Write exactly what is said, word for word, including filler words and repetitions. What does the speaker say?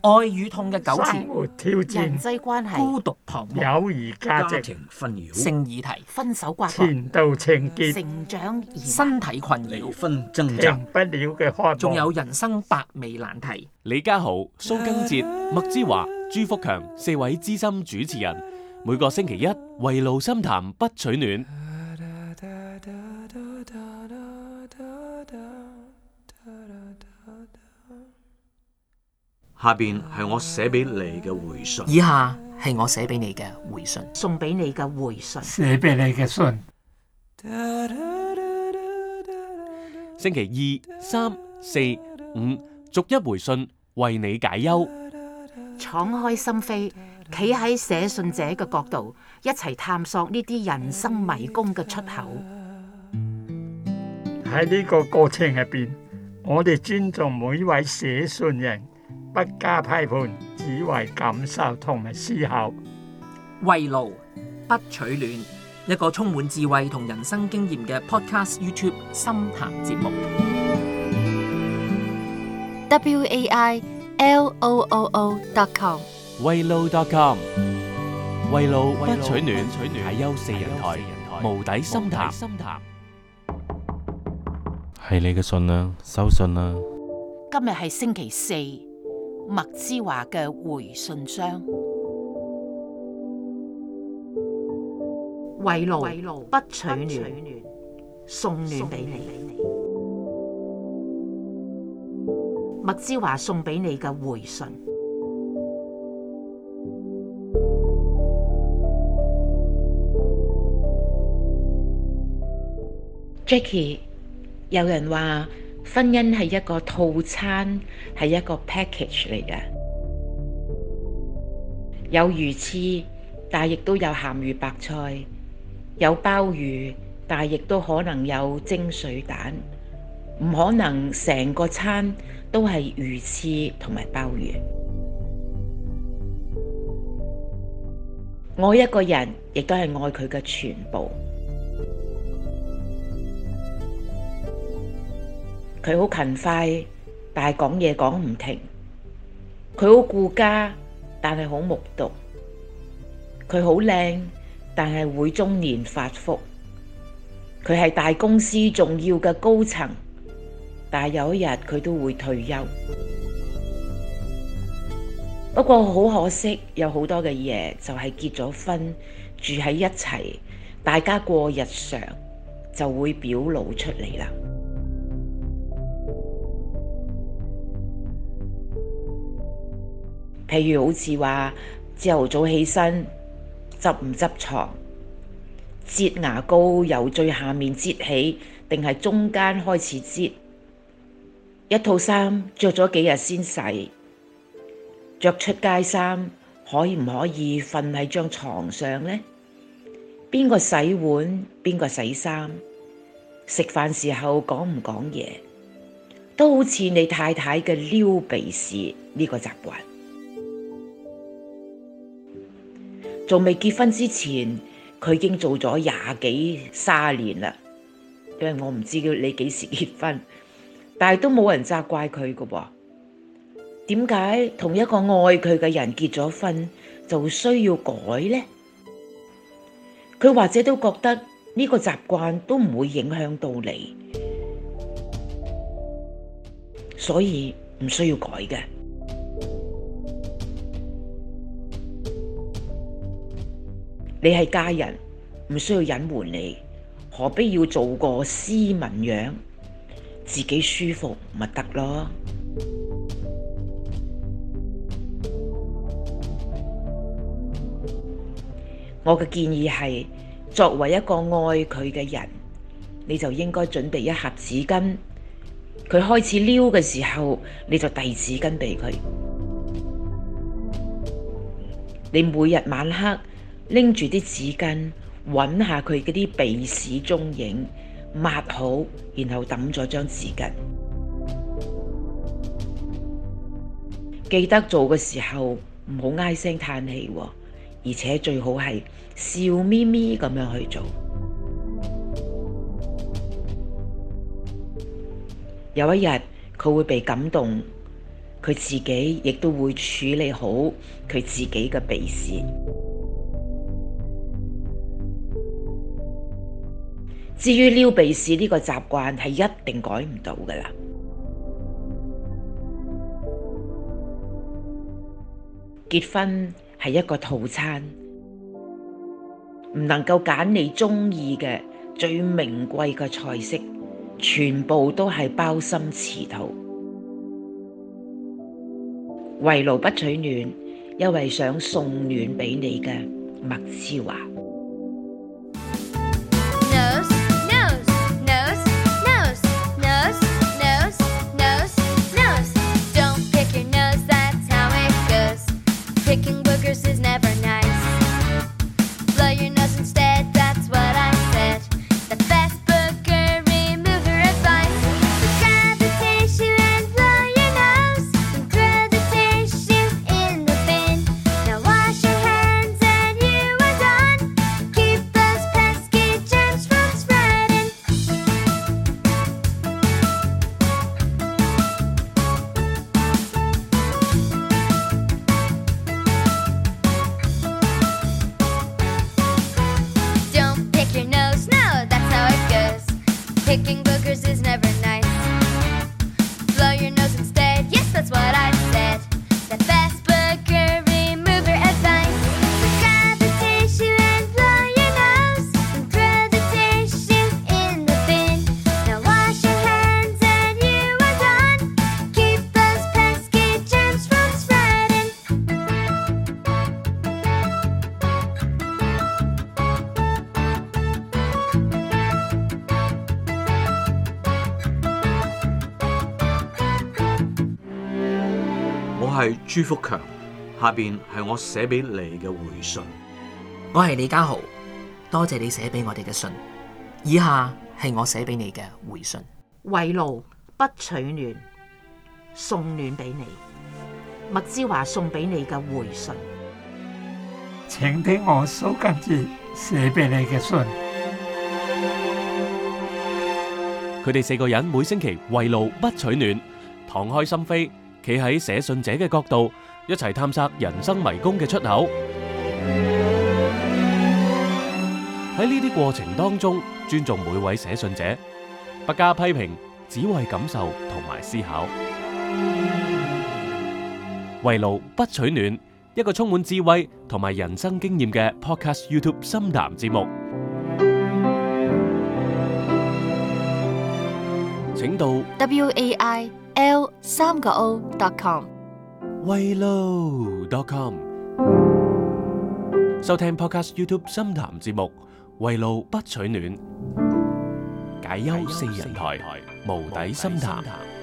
愛與痛嘅糾生纏、 活挑人戰、 際關係、 孤獨彷徨、 友誼價值、 家庭紛擾、 性議題、 分手瓜葛、 前度情結、 成長疑難、 身體困離擾， 婚掙停扎， 不了嘅渴望。 仲有人生百味難題。 李家豪、蘇賡哲、麥之華、朱福強四位資深主持人，每個星期一圍爐深談不取暖。 下邊係我寫俾你嘅回信。 以下係我寫俾你嘅回信。 送俾你嘅回信。 寫俾你嘅信， 星期二、三、四、五逐一回信，為你解憂。 敞開心扉，企喺寫信者嘅角度，一齊探索呢啲人生迷宮嘅出口。 喺呢個過程入邊，我哋尊重每一位寫信人，不加批判，只為感受同埋思考。 圍爐不取暖，一個充滿智慧同人生經驗嘅 Podcast YouTube 深談節目。 W A I L O O O dot com 圍爐 dot com 圍爐不取暖，解憂四人台，無底深談。係你嘅信啦，收信啦。 今日係星期四，麥之華嘅回信箱。圍爐不取暖，送暖俾你。麥之華送俾你嘅回信。Jackie， 有人話婚姻係一個套餐，係一個 package 嚟嘅，有魚翅，但亦都有鹹魚白菜，有鮑魚，但亦都可能有蒸水蛋，唔可能成個餐都係魚翅同埋鮑魚。愛一個人，亦都係愛佢嘅全部。佢好勤快，但係講嘢講唔停。佢好顧家，但係好木獨。佢好靚，但係會中年發福。佢係大公司重要嘅高層，但係有一日佢都會退休。不過好可惜，有好多嘅嘢就係結咗婚，住喺一齊，大家過日常就會表露出嚟啦。譬如好似話朝頭早起身執唔執床，擠牙膏由最下面擠起，定係中間開始擠？一套衫着咗幾日先洗，着出街衫可以唔可以瞓喺張床上呢？邊個洗碗，邊個洗衫？食飯時候講唔講嘢？都好似你太太嘅撩鼻屎呢個習慣。仲未結婚之前，佢已經做咗廿幾卅年啦。因為我唔知你幾時結婚，但係都冇人責怪佢㗎喎。點解同一個愛佢嘅人結咗婚就需要改呢？佢或者都覺得呢個習慣都唔會影響到你，所以唔需要改嘅。你係家人，唔需要隱瞞你，何必要做個斯文樣？自己舒服咪得咯。我嘅建議係，作為一個愛佢嘅人，你就應該準備一盒紙巾。佢開始撩嘅時候，你就遞紙巾俾佢。你每日晚黑拎住啲紙巾，揾下佢嗰啲鼻屎蹤影，抹好，然後抌咗張紙巾。記得做嘅時候唔好唉聲嘆氣喎，而且最好係笑眯眯咁樣去做。有一日佢會被感動， 佢自己亦都會處理好佢自己嘅鼻屎。至於撩鼻屎呢個習慣係一定改唔到㗎喇。結婚係一個套餐，唔能夠揀你鍾意嘅最名貴嘅菜式，全部都係鮑參翅肚。圍爐不取暖，因為想送暖俾你嘅麥之華。 Picking boogers is never nice. Blow your nose instead. Yes, that's what I said. The best booger remover advice. Grab the tissue and blow your nose. And throw the tissue in the bin. Now wash your hands and you are done. Keep those pesky germs from spreading. 我係朱福強，下邊係我寫俾你嘅回信。 我係李家豪，多謝你寫俾我哋嘅信。以下係我寫俾你嘅回信。 圍爐不取暖，送暖俾你。麥之華送俾你嘅回信。 請聽我蘇根哲寫俾你嘅信。 佢哋四個人每星期圍爐不取暖，敞開心扉，企喺寫信者嘅角度，一齊探索人生迷宮嘅出口。喺呢啲過程當中，尊重每位寫信者，不加批評，只為感受同埋思考。圍爐不取暖，一個充滿智慧同埋人生經驗嘅 Podcast YouTube 深談節目，請到 w a i l 三個 o dot com 圍爐 dot com 收聽 Podcast YouTube 深談節目，圍爐不取暖，解憂四人台，無底深談。